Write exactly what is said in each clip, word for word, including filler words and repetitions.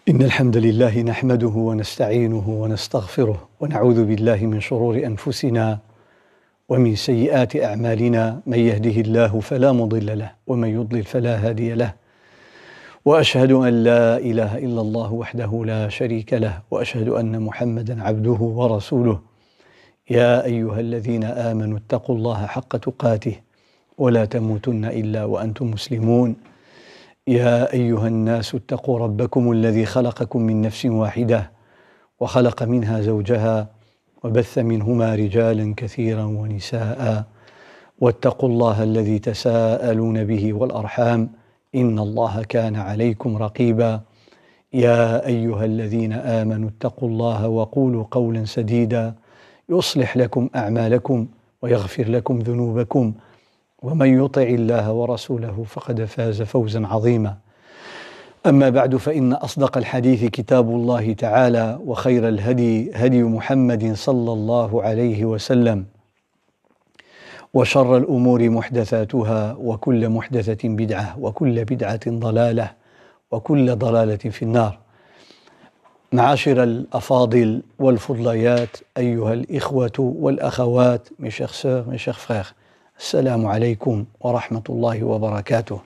إن الحمد لله نحمده ونستعينه ونستغفره ونعوذ بالله من شرور أنفسنا ومن سيئات أعمالنا. من يهده الله فلا مضل له ومن يضلل فلا هادي له، وأشهد أن لا إله إلا الله وحده لا شريك له، وأشهد أن محمدًا عبده ورسوله. يا أيها الذين آمنوا اتقوا الله حق تقاته ولا تموتن إلا وأنتم مسلمون. يا أيها الناس اتقوا ربكم الذي خلقكم من نفس واحدة وخلق منها زوجها وبث منهما رجالا كثيرا ونساء، واتقوا الله الذي تساءلون به والأرحام إن الله كان عليكم رقيبا. يا أيها الذين آمنوا اتقوا الله وقولوا قولا سديدا يصلح لكم أعمالكم ويغفر لكم ذنوبكم، ومن يطع الله ورسوله فقد فاز فوزا عظيما. أما بعد، فإن أصدق الحديث كتاب الله تعالى، وخير الهدي هدي محمد صلى الله عليه وسلم، وشر الأمور محدثاتها، وكل محدثة بدعة، وكل بدعة ضلالة، وكل ضلالة في النار. معاشر الأفاضل والفضليات، أيها الإخوة والأخوات، mes chers sœurs, mes chers frères, السلام عليكم ورحمة الله وبركاته.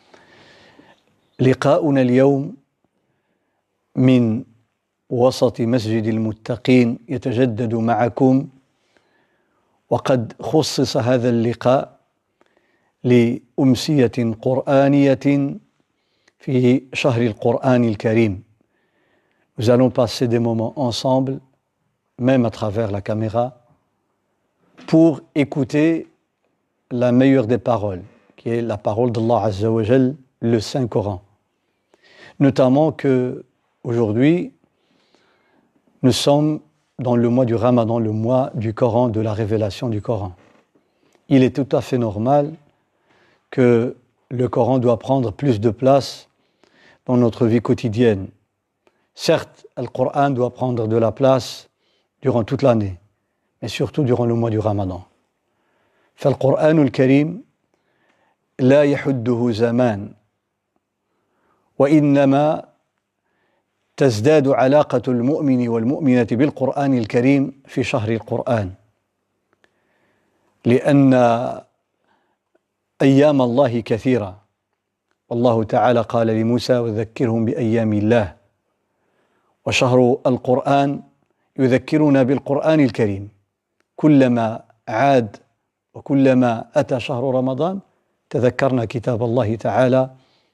لقاؤنا اليوم من وسط مسجد المتقين يتجدد معكم، وقد خصص هذا اللقاء لأمسية قرآنية في شهر القرآن الكريم. Nous allons passer des moments ensemble, même à travers la caméra, pour écouter la meilleure des paroles, qui est la parole d'Allah Azza wa Jal, le Saint-Coran. Notamment que aujourd'hui, nous sommes dans le mois du Ramadan, le mois du Coran, de la révélation du Coran. Il est tout à fait normal que le Coran doit prendre plus de place dans notre vie quotidienne. Certes, le Coran doit prendre de la place durant toute l'année, mais surtout durant le mois du Ramadan. فالقرآن الكريم لا يحده زمان، وإنما تزداد علاقة المؤمن والمؤمنة بالقرآن الكريم في شهر القرآن، لأن أيام الله كثيرة. والله تعالى قال لموسى: وذكرهم بأيام الله. وشهر القرآن يذكرنا بالقرآن الكريم. كلما عاد وكلما أتى شهر رمضان تذكرنا كتاب الله تعالى،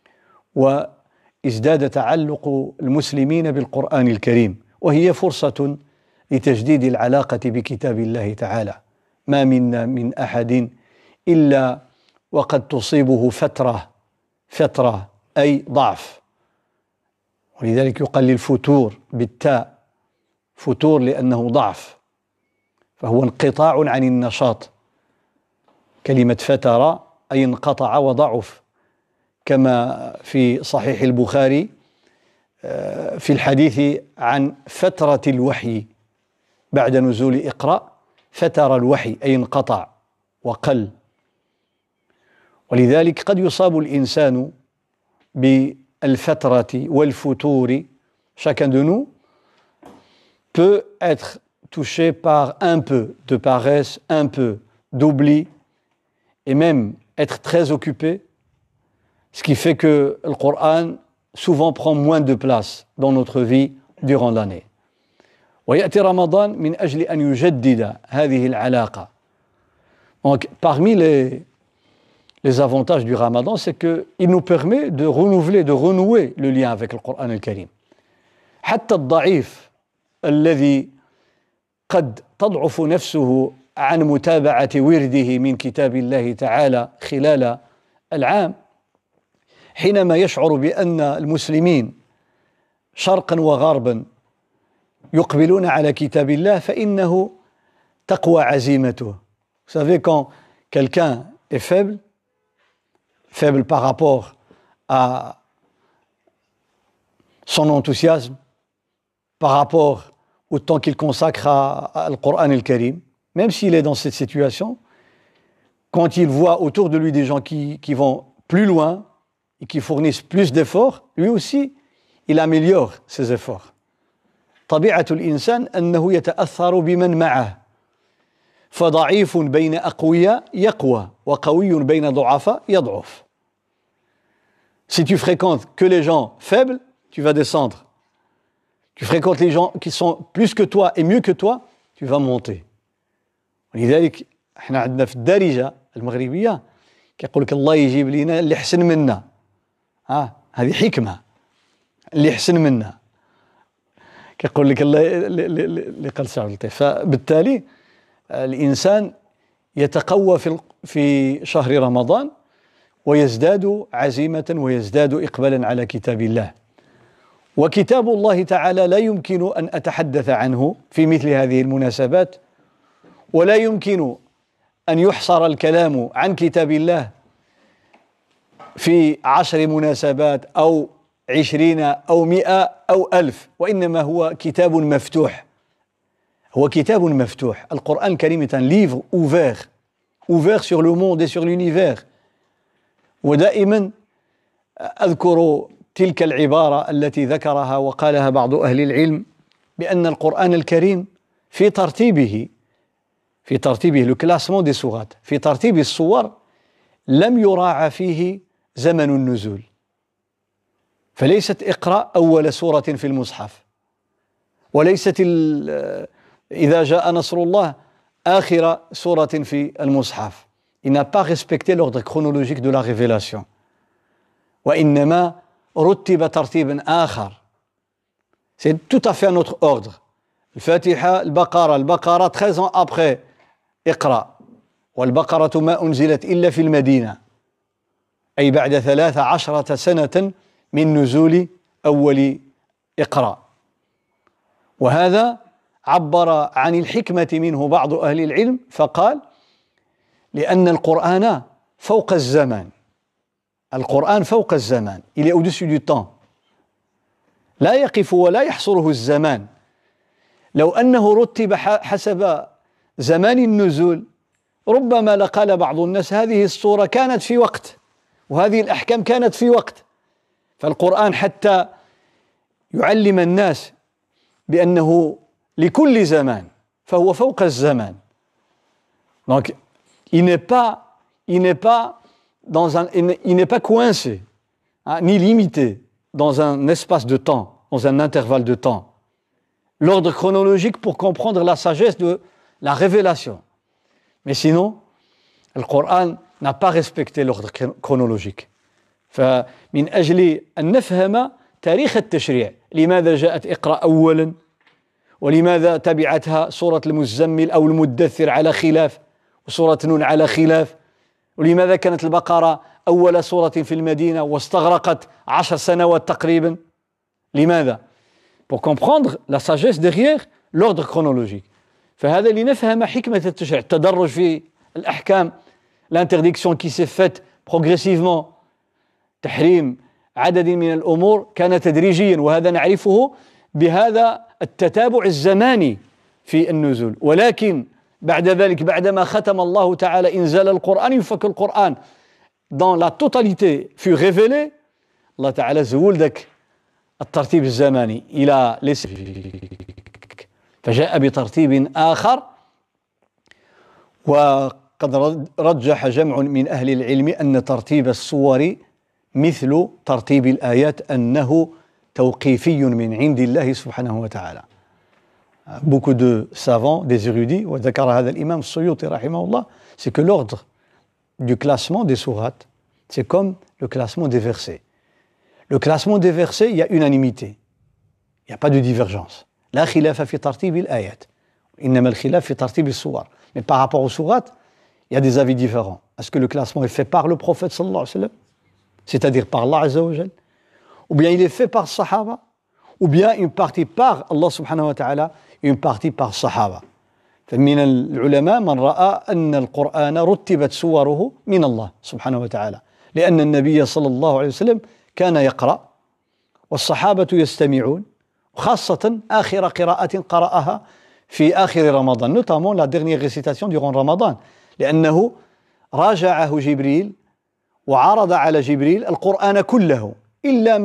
وازداد تعلق المسلمين بالقرآن الكريم، وهي فرصة لتجديد العلاقة بكتاب الله تعالى. ما منا من أحد إلا وقد تصيبه فترة فترة أي ضعف، ولذلك يقال للفتور بالتاء فتور لأنه ضعف، فهو انقطاع عن النشاط. كلمة فتر أي انقطع وضعف، كما في صحيح البخاري في الحديث عن فترة الوحي بعد نزول اقرأ، فتر الوحي أي انقطع وقل. ولذلك قد يصاب الإنسان بالفترة والفتور. Chacun de nous peut être touché par un peu de paresse, un peu d'oubli, et même être très occupé, ce qui fait que le Coran souvent prend moins de place dans notre vie durant l'année. ويأتي رمضان من أجل أن يجدد هذه العلاقة. Donc, parmi les, les avantages du Ramadan, c'est qu'il nous permet de renouveler, de renouer le lien avec le Coran al-Karim. حتى الضعيف الذي قد تضعف نفسه عن متابعة ورده من كتاب الله تعالى خلال العام، حينما يشعر بأن المسلمين شرقا وغربا يقبلون على كتاب الله فإنه تقوى عزيمته. Vous savez, quand quelqu'un est faible, faible par rapport à son enthousiasme, par rapport au temps qu'il consacre à, à le Coran al-Karim, même s'il est dans cette situation, quand il voit autour de lui des gens qui, qui vont plus loin et qui fournissent plus d'efforts, lui aussi, il améliore ses efforts. طبيعة الإنسان أنه يتأثر بمن معه. فضعيف بين أقوياء يقوى وقوي بين ضعفاء يضعف. Si tu fréquentes que les gens faibles, tu vas descendre. Tu fréquentes les gens qui sont plus que toi et mieux que toi, tu vas monter. ولذلك احنا عندنا في الدارجة المغربية كيقول لك الله يجيب لنا اللي حسن منا. ها هذه حكمة. اللي حسن منا. كيقول لك الله اللي قال سعد اللطيف. فبالتالي الإنسان يتقوى في في شهر رمضان ويزداد عزيمة ويزداد إقبالا على كتاب الله. وكتاب الله تعالى لا يمكن أن أتحدث عنه في مثل هذه المناسبات، ولا يمكن أن يحصر الكلام عن كتاب الله في عشر مناسبات أو عشرين أو مئة أو ألف، وإنما هو كتاب مفتوح. هو كتاب مفتوح. القرآن الكريم est un livre ouvert, ouvert sur le monde et sur l'univers. ودائما أذكر تلك العبارة التي ذكرها وقالها بعض أهل العلم بأن القرآن الكريم في ترتيبه في ترتيبه le classement des sourates في ترتيب الصور لم يراعى فيه زمن النزول. فليست اقرأ أول سورة في المصحف، وليست إذا جاء نصر الله آخر سورة في المصحف. Il n'a pas respecté l'ordre chronologique de la révélation. وإنما رتب ترتيبا آخر. C'est tout à fait un autre ordre. الفاتحة البقرة البقرة treize ans après اقرأ، والبقرة ما أنزلت إلا في المدينة، أي بعد ثلاث عشرة سنة من نزول أول اقرأ. وهذا عبر عن الحكمة منه بعض أهل العلم فقال لأن القرآن فوق الزمان. القرآن فوق الزمان. Il est au-dessus du temps. لا يقف ولا يحصره الزمان. لو أنه رتب حسب زمان النزول ربما لقال بعض الناس هذه السورة كانت في وقت وهذه الأحكام كانت في وقت. فالقرآن حتى يعلم الناس بأنه لكل زمان فهو فوق الزمان. Donc il n'est pas il n'est pas dans un il n'est pas coincé hein, ni limité dans un espace de temps, dans un intervalle de temps. L'ordre chronologique pour comprendre la sagesse de la révélation. Mais sinon, le Coran n'a pas respecté l'ordre chronologique. فمن أجل أن نفهم تاريخ التشريع لماذا جاءت اقرأ أولا ولماذا تبعتها سورة المزمل أو المدثر على خلاف وسورة نون على خلاف، ولماذا كانت البقرة أول سورة في المدينة واستغرقت عشر سنوات تقريبا. لماذا؟ Pour comprendre la sagesse derrière l'ordre chronologique. فهذا لنفهم حكمة التشريع، التدرج في الأحكام، l'interdiction qui s'est faite progressivement، تحريم عدد من الأمور كان تدريجيا، وهذا نعرفه بهذا التتابع الزماني في النزول. ولكن بعد ذلك بعدما ختم الله تعالى إنزال القرآن يفك القرآن dans la totalité fut révélé، الله تعالى زول ذاك الترتيب الزماني إلى ليس فجاء بترتيب آخر. وقد رجح جمع من أهل العلم أن ترتيب السور مثل ترتيب الآيات أنه توقيفي من عند الله سبحانه وتعالى. Beaucoup de savants, des érudits, وذكر هذا الإمام السيوطي رحمه الله, c'est que l'ordre du classement des sourates, c'est comme le classement des versets. Le classement des versets, il y a unanimité. Il n'y a pas de divergence. لا خلاف في ترتيب الآيات. إنما الخلاف في ترتيب السور. Mais par rapport aux sourates, il y a des avis différents. Est-ce que le classement est fait par le prophète sallallahu alayhi wa sallam, c'est-à-dire par Allah azza wa jal, ou bien il est fait par Sahaba, ou bien une partie par Allah subhanahu wa ta'ala, une partie par Sahaba. فمن العلماء من رأى أن القرآن رتبت سوره من الله سبحانه وتعالى، لأن النبي صلى الله عليه وسلم كان يقرأ والصحابة يستمعون، خاصة آخر قراءة قرأها في آخر رمضان، notamment la dernière récitation durant Ramadan، لأنه راجعه جبريل وعرض على جبريل القرآن كله إلا ما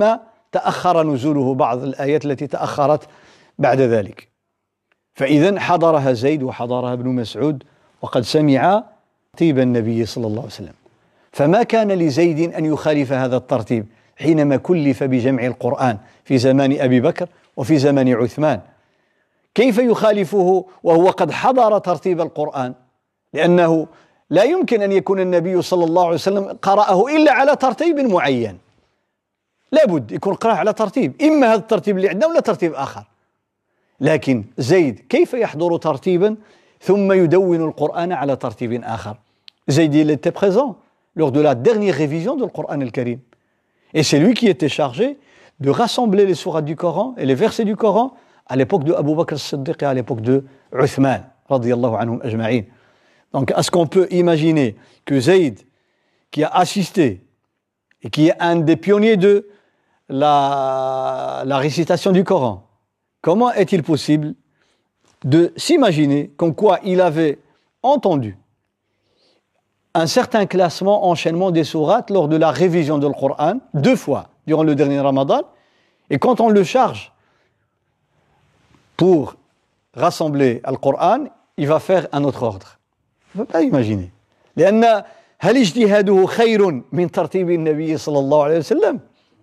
تأخر نزوله بعض الآيات التي تأخرت بعد ذلك. فإذا حضرها زيد وحضرها ابن مسعود وقد سمع ترتيب النبي صلى الله عليه وسلم، فما كان لزيد أن يخالف هذا الترتيب حينما كلف بجمع القرآن في زمان أبي بكر وفي زمان عثمان. كيف يخالفه وهو قد حضر ترتيب القرآن؟ لأنه لا يمكن أن يكون النبي صلى الله عليه وسلم قرأه إلا على ترتيب معين، لابد يكون قرأ على ترتيب، إما هذا الترتيب اللي عندنا ولا ترتيب آخر. لكن زيد كيف يحضر ترتيبا ثم يدون القرآن على ترتيب آخر؟ زيد il était présent lors de la dernière révision du Coran al-Karim. Et c'est lui qui était chargé de rassembler les sourates du Coran et les versets du Coran à l'époque de Abu Bakr as-Siddiq et à l'époque de Uthman, radiyallahu anhum ajma'in. Donc, est-ce qu'on peut imaginer que Zayd, qui a assisté et qui est un des pionniers de la, la récitation du Coran, comment est-il possible de s'imaginer comme quoi il avait entendu un certain classement, enchaînement des sourates lors de la révision du Coran, deux fois durant le dernier Ramadan, et quand on le charge pour rassembler le Coran, il va faire un autre ordre. On ne peut pas imaginer. لأن هل اجتهاده خير من ترتيب النبي صلى الله عليه وسلم؟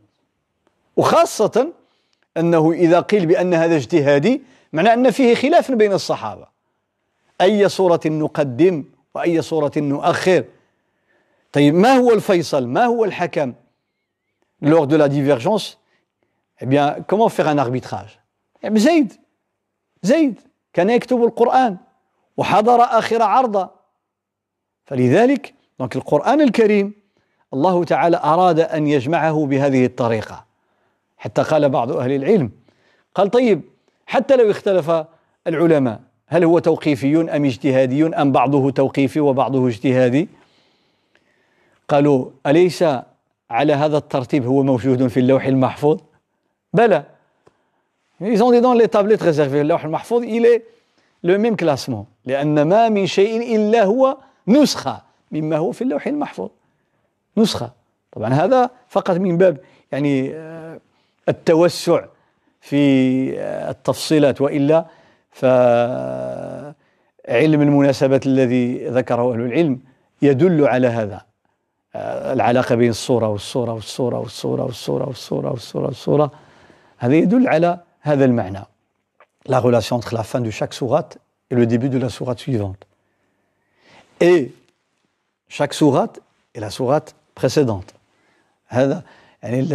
وخاصة أنه إذا قيل بأن هذا اجتهادي معنى أن فيه خلاف بين الصحابة، أي صورة نقدم وأي صورة نؤخر. طيب ما هو الفيصل؟ ما هو الحكم lors de la divergence? Eh bien, comment faire un arbitrage? Eh bien, زيد زيد كان يكتب القرآن وحضر آخر عرضة. فلذلك donc القرآن الكريم الله تعالى أراد أن يجمعه بهذه الطريقة، حتى قال بعض أهل العلم قال طيب حتى لو اختلف العلماء هل هو توقيفي أم اجتهادي أم بعضه توقيفي وبعضه اجتهادي؟ قالوا أليس على هذا الترتيب هو موجود في اللوح المحفوظ؟ بلى. Ils ont dit dans les tablettes réservées اللوح المحفوظ il est le même classement لأن ما من شيء إلا هو نسخة مما هو في اللوح المحفوظ، نسخة. طبعا هذا فقط من باب يعني التوسع في التفصيلات، وإلا فعلم المناسبات الذي ذكره أهل العلم يدل على هذا، العلاقة بين الصورة والصورة والصورة والصورة والصورة والصورة والصورة والصورة، هذا يدل على هذا المعنى. La relation entre la fin de chaque sourate et le début de la sourate suivante. Et chaque sourate est la sourate précédente. هذا يعني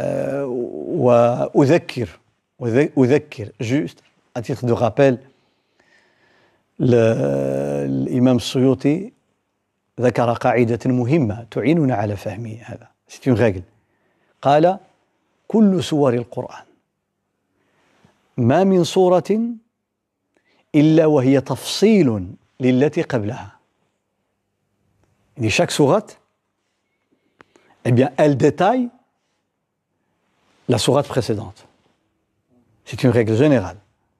وأذكر أذكر juste à titre de rappel الإمام السيوطي ذكر قاعدة مهمة تعيننا على فهم هذا. C'est une règle. قال كل سور القرآن ما من سورة إلا وهي تفصيل للتي قبلها. يعني chaque sourate, eh bien, elle détaille la sourate précédente. C'est une règle générale.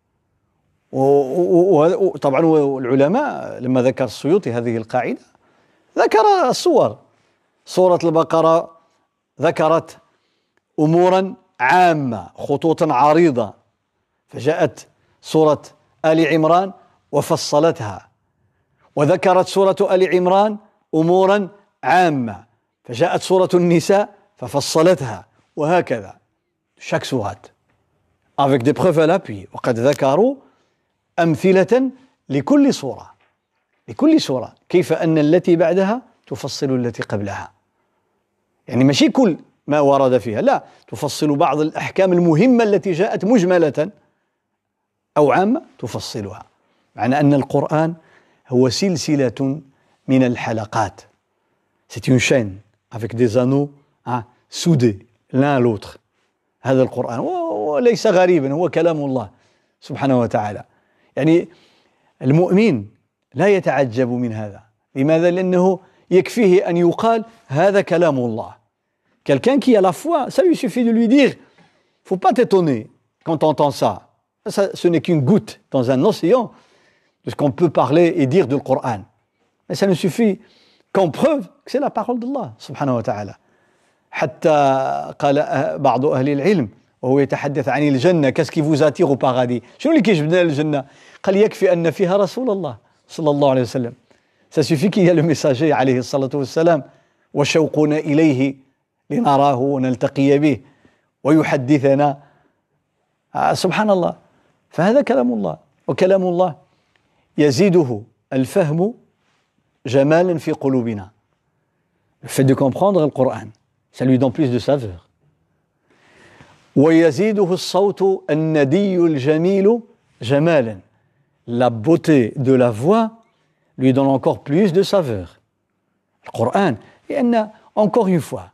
وطبعا العلماء لما ذكر السيوطي هذه القاعدة ذكر الصور. سورة البقرة ذكرت أمورا عامة خطوطا عريضة، فجاءت سورة آل عمران وفصلتها، وذكرت سورة آل عمران أمورا عامة فجاءت سورة النساء ففصلتها، وهكذا chaque sourate avec des preuves à l'appui. وقد ذكروا أمثلة لكل سورة لكل سورة كيف أن التي بعدها تفصل التي قبلها. يعني ماشي كل ما ورد فيها، لا، تفصل بعض الأحكام المهمة التي جاءت مجملة أو عامة تفصلها. معنى أن القرآن هو سلسلة من الحلقات. C'est une chaîne avec des anneaux hein, soudés l'un à l'autre. هذا القرآن وليس غريبا، هو كلام الله سبحانه وتعالى. يعني المؤمن لا يتعجب من هذا. لماذا؟ لأنه يكفيه أن يقال هذا كلام الله. Quelqu'un qui a la foi, ça lui suffit de lui dire, il ne faut pas t'étonner quand tu entends ça. ça. Ce n'est qu'une goutte dans un océan de ce qu'on peut parler et dire du Coran. Mais ça ne suffit qu'en preuve que c'est la parole d'Allah subhanahu wa ta'ala. حتى قال بعض أهل العلم وهو يتحدث عن الجنة qu'est-ce qui vous attire au paradis شنو اللي كيجبدنا للجنة قال يكفي أن فيها رسول الله صلى الله عليه وسلم ça suffit qu'il y a le messager عليه الصلاة والسلام وشوقنا إليه لنراه ونلتقي به ويحدثنا سبحان الله فهذا كلام الله وكلام الله يزيده الفهم جمالا في قلوبنا le fait de comprendre le Coran ça lui donne plus de saveur ويزيده الصوت الندي الجميل جمالا la beauté de la voix lui donne encore plus de saveur le Coran لأن encore une fois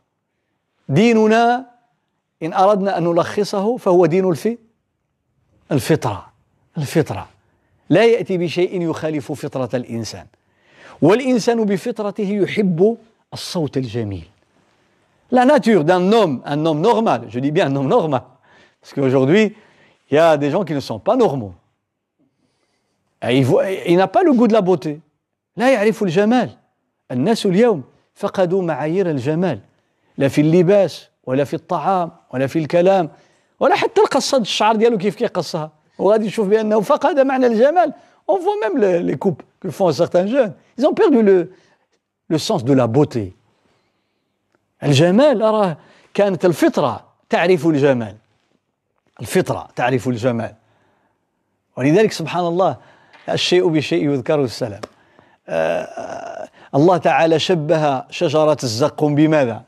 ديننا إن أردنا أن نلخصه فهو دين الفي الفطرة الفطرة لا يأتي بشيء يخالف فطرة الإنسان والإنسان بفطرته يحب الصوت الجميل la nature d'un homme un homme normal je dis bien un homme normal parce qu'aujourd'hui il y a des gens qui ne sont pas normaux il, voit, il n'a pas le goût de la beauté لا يعرف الجمال الناس اليوم فقدوا معايير الجمال لا في اللباس ولا في الطعام ولا في الكلام ولا حتى القصة الشعر ديالو كيف كيقصها وغادي يشوف بأنه فقد معنى الجمال on voit même les, les coupes que font certains jeunes ils ont perdu le, le sens de la beauté الجمال أراه كانت الفطرة تعرف الجمال الفطرة تعرف الجمال ولذلك سبحان الله الشيء بشيء يذكره السلام آه الله تعالى شبه شجرة الزقوم بماذا؟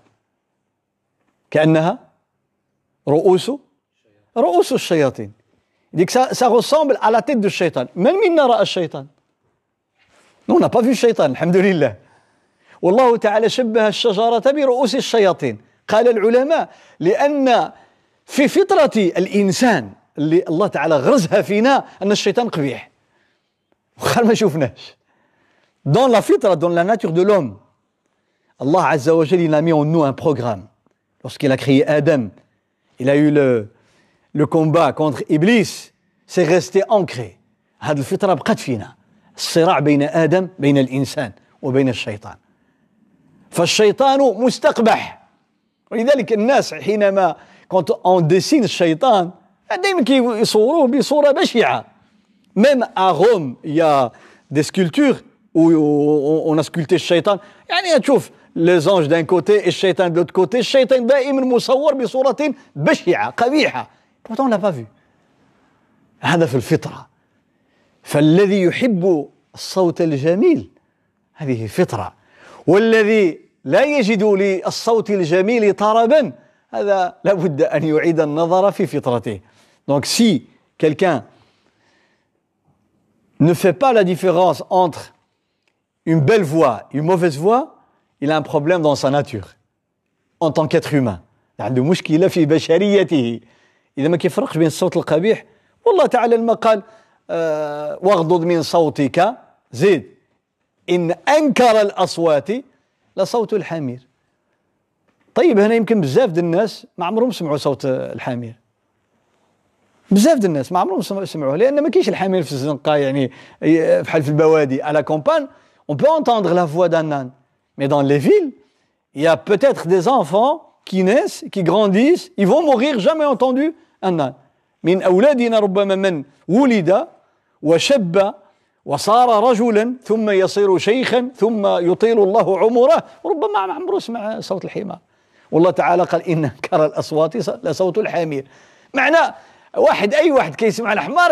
كأنها رؤوس رؤوس الشياطين dit que ça, ça ressemble à la tête du shaitan من منا رأى الشيطان nous on n'a pas vu الشيطان الحمد لله والله تعالى شبه الشجرة برؤوس الشياطين قال العلماء لأن في فطرة الإنسان اللي الله تعالى غرزها فينا أن الشيطان قبيح وخال ما شوفناش dans la fitra, dans la nature de l'homme Allah Azza wa Jal il a mis en nous un programme lorsqu'il a créé Adam il a eu le, le combat contre Iblis c'est resté ancré هذه الفطرة بقت فينا الصراع بين آدم بين الإنسان وبين الشيطان فالشيطان مستقبح ولذلك الناس حينما quand on dessine الشيطان دائما كيصوروه بصورة بشعة même à Rome il y a des sculptures où on a sculpté الشيطان يعني تشوف les anges d'un côté et الشيطان de l'autre côté الشيطان دائما مصور بصورة بشعة قبيحة pourtant on l'a pas vu هذا في الفطرة فالذي يحب الصوت الجميل هذه فطرة والذي لا يجد للصوت الجميل طربا هذا لابد أن يعيد النظر في فطرته donc si quelqu'un ne fait pas la différence entre une belle voix une mauvaise voix il a un problème dans sa nature en tant qu'être humain عنده مشكلة في بشريته إذا ما كيفرقش بين الصوت القبيح والله تعالى لما قال أه واغضض من صوتك زيد إن أنكر الأصوات لصوت الحمير طيب هنا يمكن بزاف د الناس ما عمرهم سمعوا صوت الحمير بزاف د الناس ما عمرهم سمعوه لأن ما كاينش الحمير في الزنقة يعني بحال في البوادي à la campagne on peut entendre la voix d'un âne mais dans les villes il y a peut-être des enfants qui naissent qui grandissent ils vont mourir jamais entendu un âne من أولادنا ربما من ولد وشب وصار رجلا ثم يصير شيخا ثم يطيل الله عمره وربما ما عمره سمع صوت الحمار والله تعالى قال إن أنكر الأصوات لصوت الحمير معناه واحد أي واحد كيسمع الحمار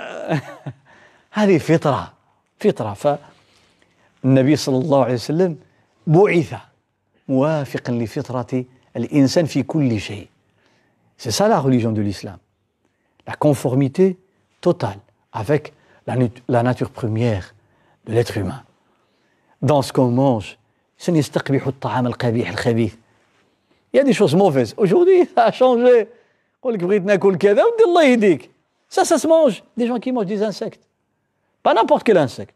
هذه فطرة فطرة فالنبي صلى الله عليه وسلم بعث موافقا لفطرة الإنسان في كل شيء c'est ça la religion de l'islam la conformité totale avec la, la nature première de l'être humain dans ce qu'on mange سنستقبح الطعام القبيح الخبيث il y a des choses mauvaises aujourd'hui ça a changé يقول لك بغيت ناكل كذا ودي الله يهديك ça ça se mange des gens qui mangent des insectes pas n'importe quel insecte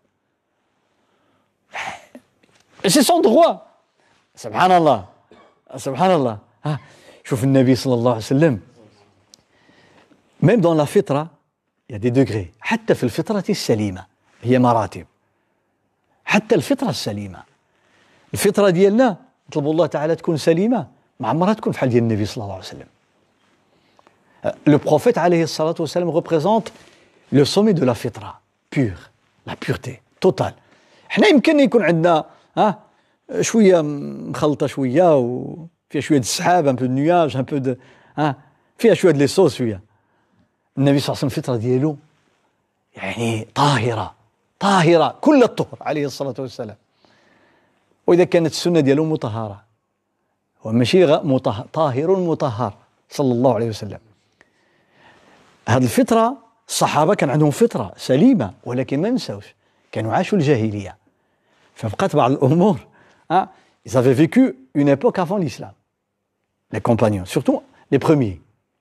c'est son droit سبحان الله سبحان الله ها شوف النبي صلى الله عليه وسلم même dans la fitra il y a des degrés حتى في الفطرة السليمة هي مراتب حتى الفطرة السليمة الفطرة ديالنا نطلب الله تعالى تكون سليمة ما عمرها تكون بحال ديال النبي صلى الله عليه وسلم. Le prophète عليه الصلاة والسلام représente le sommet de la fitra, pure, la pureté, totale. حنا يمكن يكون عندنا ها شوية مخلطة شوية وفيها شوية د السحاب، un peu de nuage, un peu de ها فيها شوية د لي صوص شوية. النبي صلى الله عليه وسلم الفطرة ديالو يعني طاهرة طاهرة كل الطهر عليه الصلاة والسلام. وإذا كانت السنة ديالو مطهرة وماشي مطهر طاهر مطهر صلى الله عليه وسلم. هذه الفطرة الصحابة كان عندهم فطرة سليمة، ولكن ما نساوش كانوا عاشوا الجاهلية، فبقات بعض الأمور hein, ils avaient vécu une époque avant l'islam, les compagnons, surtout les premiers.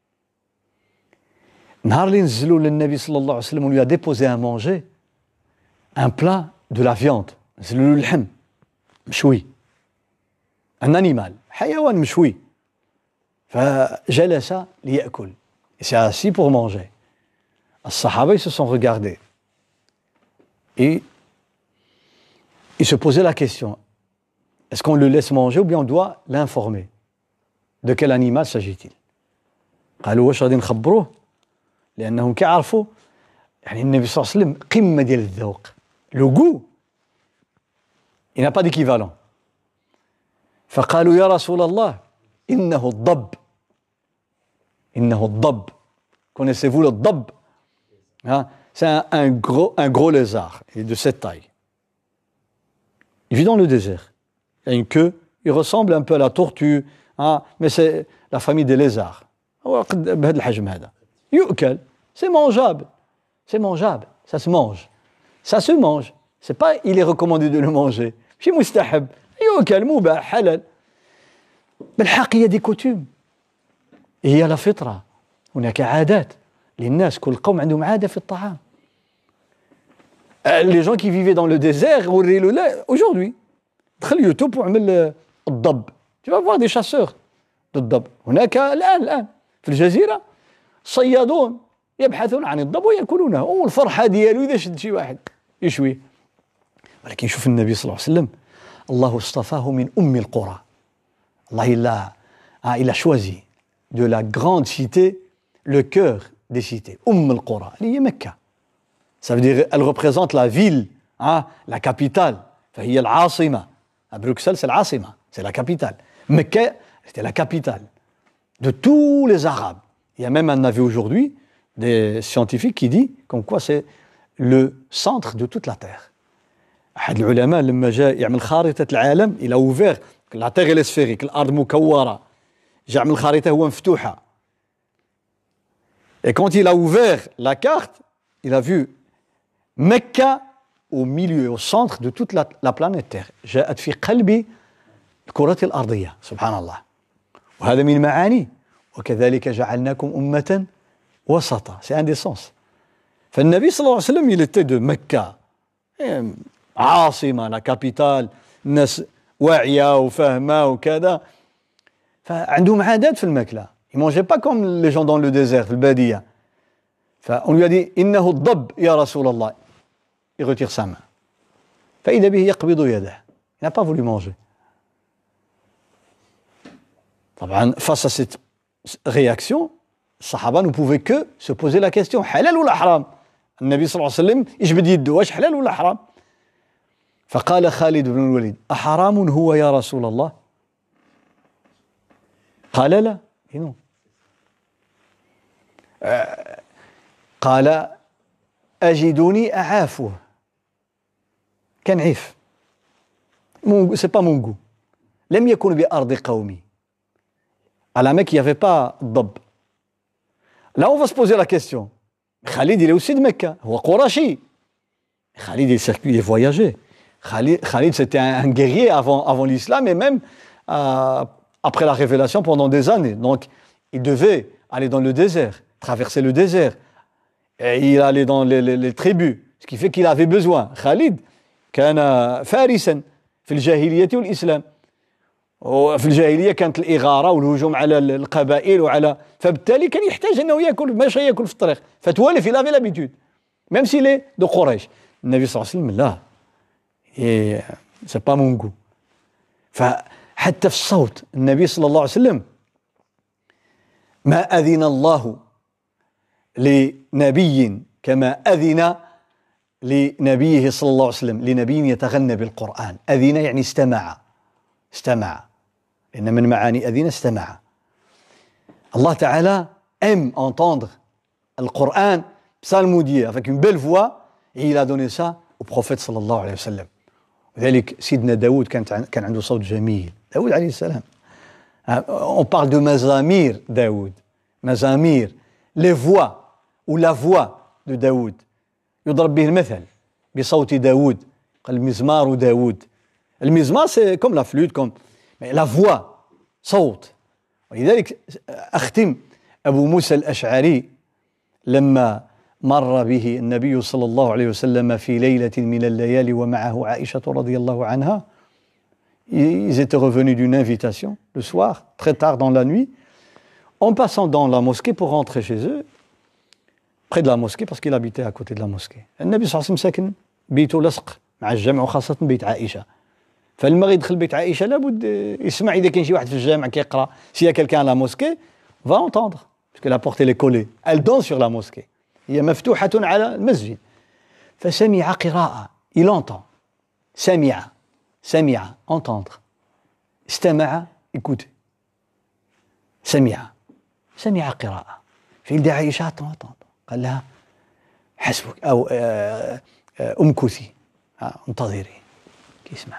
نهار اللي نزلوا للنبي صلى الله عليه وسلم ولي déposé à manger un plat de la viande، نزلوا له اللحم مشوي، un animal حيوان مشوي، فجلس ليأكل، il s'est assis pour manger. الصحابة ils se sont regardés et ils se posaient la question, est-ce qu'on le laisse manger ou bien on doit l'informer? De quel animal s'agit-il? قالوا واش غادي نخبروه؟ لأنهم كيعرفوا يعني النبي صلى الله عليه وسلم قمة ديال الذوق، le goût il n'a pas d'équivalent. فقالوا يا رسول الله إنه الضب، إنه الضب. Connaissez-vous le ضب? Hein? C'est un, un, gros, un gros lézard, il est de cette taille. Il vit dans le désert. Il a une queue, il ressemble un peu à la tortue, hein? Mais c'est la famille des lézards. بهذا الحجم هذا. يؤكل, c'est mangeable. C'est mangeable, ça se mange. Ça se mange. C'est pas il est recommandé de le manger. ماشي مستحب. يؤكل مباح حلال. بالحق هي دي coutumes. هي la فطرة. هناك عادات للناس، كل قوم عندهم عادة في الطعام. Les gens qui vivaient dans le désert وريلو لا aujourd'hui دخل يوتيوب وعمل الضب. Tu vas voir des chasseurs للضب. هناك الآن الآن في الجزيرة صيادون يبحثون عن الضب ويأكلونه، والفرحة ديالو إذا شد شي واحد يشويه. ولكن شوف النبي صلى الله عليه وسلم الله اصطفاه من أم القرى. الله il a, ah, il a choisi de la grande cité le cœur des cités. أم القرى اللي هي مكة. Ça veut dire elle représente la ville, hein, la capitale. فهي العاصمة. À Bruxelles c'est العاصمة, c'est la capitale. Mecca c'était la capitale de tous les Arabes. Il y a même un avis aujourd'hui des scientifiques qui dit comme quoi c'est le centre de toute la terre. أحد العلماء لما جاء يعمل خارطة العالم il a ouvert la terre elle est sphérique, الأرض مكورة. جاء عمل خارطة هو مفتوحة. Et quand il a ouvert la carte, il a vu Mecca au milieu, au centre de toute la, la planète Terre. جاءت في قلب الكرة الأرضية سبحان الله. وهذا من معاني وكذلك جعلناكم أمة وسطا. C'est un des sens. فالنبي صلى الله عليه وسلم il était de Mecca, عاصمة, la capitale, الناس واعية وفاهمة وكذا. فعندهم عادات في الماكلة. Ils ne mangeaient pas comme les gens dans le désert, le Badia. On lui a dit إنه الضب يا رسول الله. Il retire sa main. فإذا به يقبض يده. Il n'a pas voulu manger. طبعا face à cette réaction, الصحابة ne pouvaient que se poser la question حلال ولا حرام؟ النبي صلى الله عليه وسلم يجبد يده واش حلال ولا حرام؟ فقال خالد بن الوليد أحرام هو يا رسول الله؟ قال لا. Non. Euh, قال أجدني أعافه. كان عيف. C'est pas mon goût. لم يكن بأرض قومي. À la Mecque, il n'y avait pas الضب. Là, on va se poser la question. Khalid, il est aussi de Mecca. هو قرشي. Khalid, il circulait, il voyageait. Khalid, Khalid c'était un, un guerrier avant, avant l'islam et même euh, après la révélation pendant des années. Donc, il devait aller dans le désert, traverser le désert. Et il allait dans les, les, les tribus. Ce qui fait qu'il avait besoin. Khalid, كان فارسا في الجاهلية والإسلام. وفي الجاهلية كانت الإغارة والهجوم على القبائل وعلى فبالتالي كان يحتاج أنه يأكل ماشي يأكل في الطريق. فتوالف il avait l'habitude. Même s'il est de Quraysh. النبي صلى الله عليه وسلم لا. Et c'est pas mon goût. ف حتى في الصوت النبي صلى الله عليه وسلم ما أذن الله لنبي كما أذن لنبيه صلى الله عليه وسلم لنبي يتغنى بالقرآن. أذن يعني استمع، استمع، لأن من معاني أذن استمع. Allah Ta'ala aime entendre le Coran psalmodié avec une belle voix, et il a donné ça au prophète صلى الله عليه وسلم. وذلك سيدنا داود كان كان عنده صوت جميل. داود عليه السلام. On parle de mazamir Daoud. Mazamir, les voix ou la voix de Daoud. يضرب به المثل بصوت داود. قال مزمار داود. المزمار c'est comme la flûte, comme mais la voix, صوت. ولذلك أختم أبو موسى الأشعري لما مر به النبي صلى الله عليه وسلم في ليلة من الليالي ومعه عائشة رضي الله عنها. Ils étaient revenus d'une invitation le soir, très tard dans la nuit, en passant dans la mosquée pour rentrer chez eux, près de la mosquée parce qu'il habitait à côté de la mosquée. النبي صلى الله عليه وسلم ساكن بيته لصق مع الجامع وخاصة بيت عائشة. فلما يدخل بيت عائشة لابد يسمع إذا كان شي واحد في الجامع كيقرأ. S'il y a quelqu'un à la mosquée, va entendre parce que la porte elle est collée. Elle donne sur la mosquée. هي مفتوحة على المسجد. فسمع قراءة. Il entend. سمع. سمع. Entendre. استمع. Écoute. سمع. سمع قراءة. فيلدى عائشة entendre. قال لها حسبك أو أمكثي انتظري. كيسمع.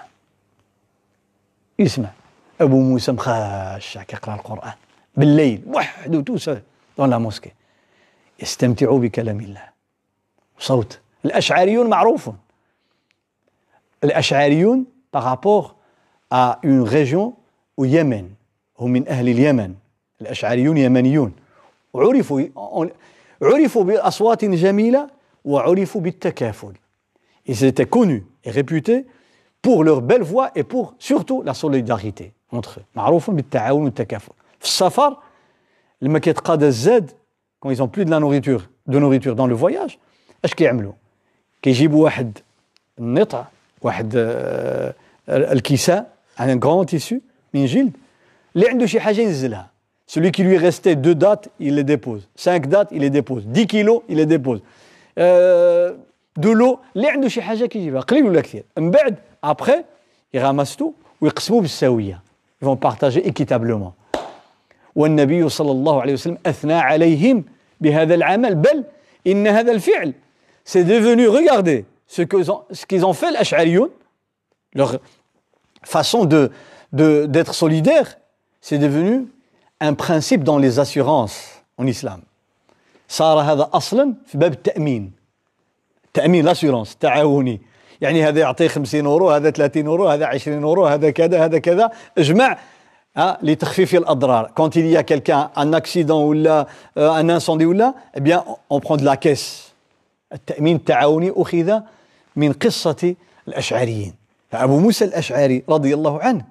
يسمع أبو موسى مخاشع كيقرأ القرآن بالليل وحده توسع dans la mosquée. يستمتعوا بكلام الله. صوت الأشعريون معروفون. الأشعريون par rapport à une région au Yémen. هم من أهل اليمن. الأشعريون يمنيون. وعرفوا عرفوا بأصوات جميلة وعرفوا بالتكافل. Ils étaient connus et réputés pour leur belle voix et pour surtout la solidarité entre eux. معروفون بالتعاون والتكافل. في السفر لما كيتقاضى الزاد quand ils ont plus de la nourriture de nourriture dans le voyage اش كيعملوا؟ كيجيبوا واحد النطع واحد الكساء un grand tissu من جلد اللي عنده شي حاجه ينزلها. Celui qui lui restait deux dates, il les dépose. Cinq dates, il les dépose. Dix kilos, il les dépose. Euh, de l'eau, اللي عنده شي حاجه كيجيبها قليل ولا كثير. من بعد après ils ramassent tout ويقسموا بالساويه. Ils vont partager équitablement. والنبي صلى الله عليه وسلم أثنى عليهم بهذا العمل بل إن هذا الفعل c'est devenu, regardez ce qu'ils ont, ce qu'ils ont fait l'Ash'ariyoun, leur façon de, de, d'être solidaire, c'est devenu un principe dans les assurances en islam. صار هذا أصلا في باب التأمين. تأمين l'assurance تعاوني. يعني هذا يعطي خمسين أورو هذا ثلاثين أورو هذا عشرين أورو هذا كذا هذا كذا اجمع hein, لتخفيف الأضرار. Quand il y a quelqu'un un accident ou là, euh, un incendie ou là, eh bien on prend de la caisse. التأمين التعاوني أخذ من قصة الأشعريين. فأبو موسى الأشعري رضي الله عنه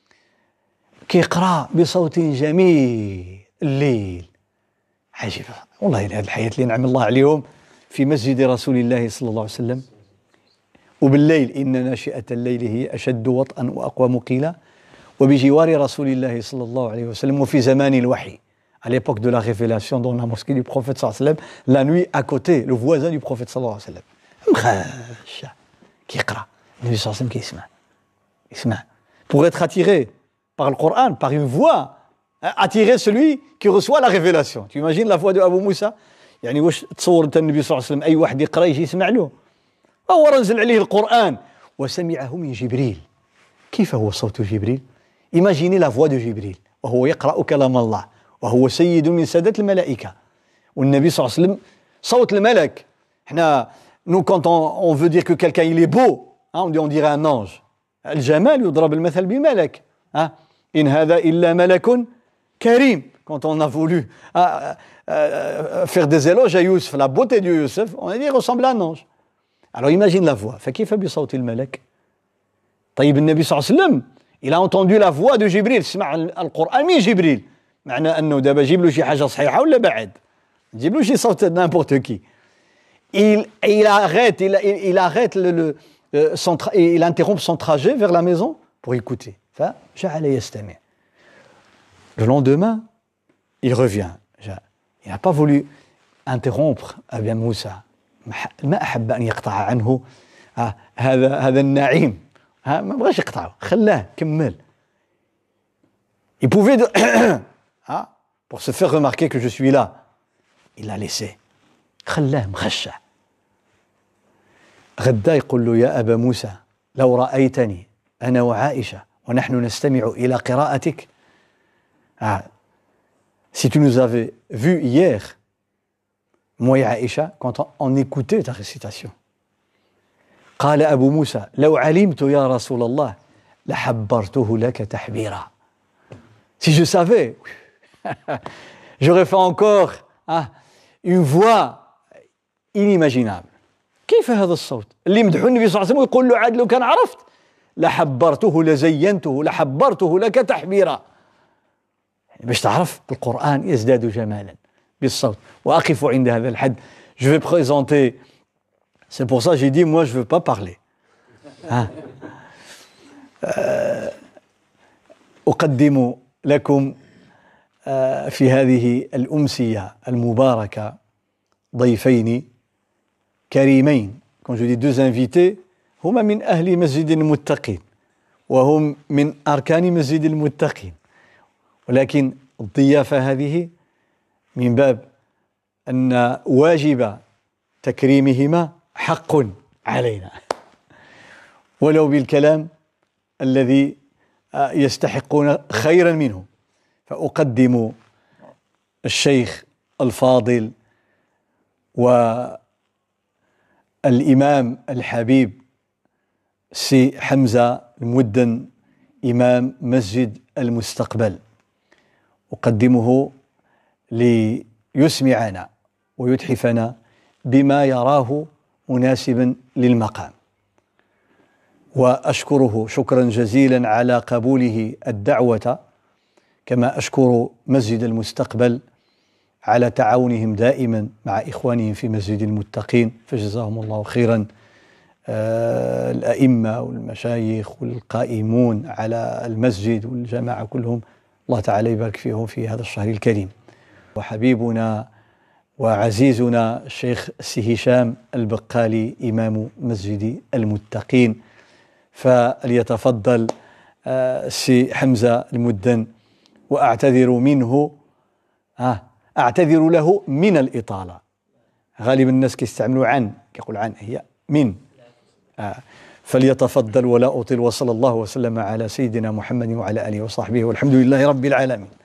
كيقرأ بصوت جميل الليل. عجيبة والله هذه الحياة اللي نعم الله عليهم في مسجد رسول الله صلى الله عليه وسلم. وبالليل إن ناشئة الليل هي أشد وطئا وأقوم قيلا وبجوار رسول الله صلى الله عليه وسلم وفي زمان الوحي. À l'époque de la révélation dans la mosquée du prophète sallallahu alayhi wa sallam, la nuit à côté, le voisin du prophète sallallahu alayhi wa sallam. مخاشع كيقرأ النبي صلى الله عليه وسلم كيسمع يسمع pour être attiré par le Coran, par une voix, attirer celui qui reçoit la révélation. Tu imagines la voix de Abu Moussa? يعني واش تصور انت النبي صلى الله عليه وسلم اي واحد يقرا يجي يسمع له؟ هو نزل عليه القرآن وسمعه من جبريل. كيف هو صوت جبريل؟ Imaginez la voix de Jibril وهو يقرأ كلام الله وهو سيد من سادة الملائكة. والنبي صلى الله عليه وسلم صوت الملك. احنا nous quand on, on veut dire que quelqu'un il est beau, hein, on dit on dirait un ange. الجمال يضرب المثل بملك. Hein? إن هذا إلا ملك كريم. Quand on a voulu hein, euh, faire des éloges à Youssef, la beauté de Youssef, on a dit il ressemble à un ange. Alors imagine la voix. فكيف بصوت الملك؟ طيب النبي صلى الله عليه وسلم il a entendu la voix de Jibril. سمع القرآن من جبريل. معنى أنه دابا جيب له شي حاجة صحيحة ولا بعد؟ جيب له شي صوت n'importe qui. Il, il arrête, il, il, il arrête le, le, son tra- il interrompt son trajet vers la maison pour écouter. فجعل يستمع. Le lendemain, il revient. Il n'a pas voulu interrompre Abba Moussa. ما أحب أن يقطع عنه هذا هذا النعيم. ما بغاش يقطعه، خلاه كمل. Il pouvait de... pour se faire remarquer que je suis là. Il l'a laissé. خلاه مخشع. غدا يقول له يا أبا موسى لو رأيتني أنا وعائشة ونحن نستمع إلى قراءتك. Ah, si tu nous avais vus hier, moi et Aïcha, quand on écoutait ta récitation. قال أبو موسى لو علمت يا رسول الله لحبرته لك تحبيرا. Si je savais, j'aurais fait encore ah, une voix inimaginable. كيف هذا الصوت اللي مدحو النبي صلى الله عليه وسلم ويقول له عاد لو كان عرفت لحبرته لزينته لحبرته لك تحبيرا. باش تعرف القرآن يزداد جمالا بالصوت. وأقف عند هذا الحد. Je vais présenter. C'est pour ça que j'ai dit moi je veux pas parler. hein. أقدم لكم في هذه الأمسية المباركة ضيفين كريمين. Quand je dis deux invités, هما من أهل مسجد المتقين وهم من أركان مسجد المتقين. ولكن الضيافة هذه من باب أن واجب تكريمهما حق علينا ولو بالكلام الذي يستحقون خيرا منه. فأقدم الشيخ الفاضل والإمام الحبيب سي حمزة المدن إمام مسجد المستقبل. أقدمه ليسمعنا ويتحفنا بما يراه مناسبا للمقام. وأشكره شكرا جزيلا على قبوله الدعوة، كما أشكر مسجد المستقبل على تعاونهم دائما مع إخوانهم في مسجد المتقين، فجزاهم الله خيرا. آه الأئمة والمشايخ والقائمون على المسجد والجماعة كلهم، الله تعالى يبارك فيهم في هذا الشهر الكريم. وحبيبنا وعزيزنا الشيخ سي هشام البقالي إمام مسجد المتقين، فليتفضل آه سي حمزة المدن. وأعتذر منه آه أعتذر له من الإطالة. غالبا الناس كيستعملوا عن، كيقول عن، هي من. آه فليتفضل ولا أطيل. وصلى الله وسلم على سيدنا محمد وعلى آله وصحبه والحمد لله رب العالمين.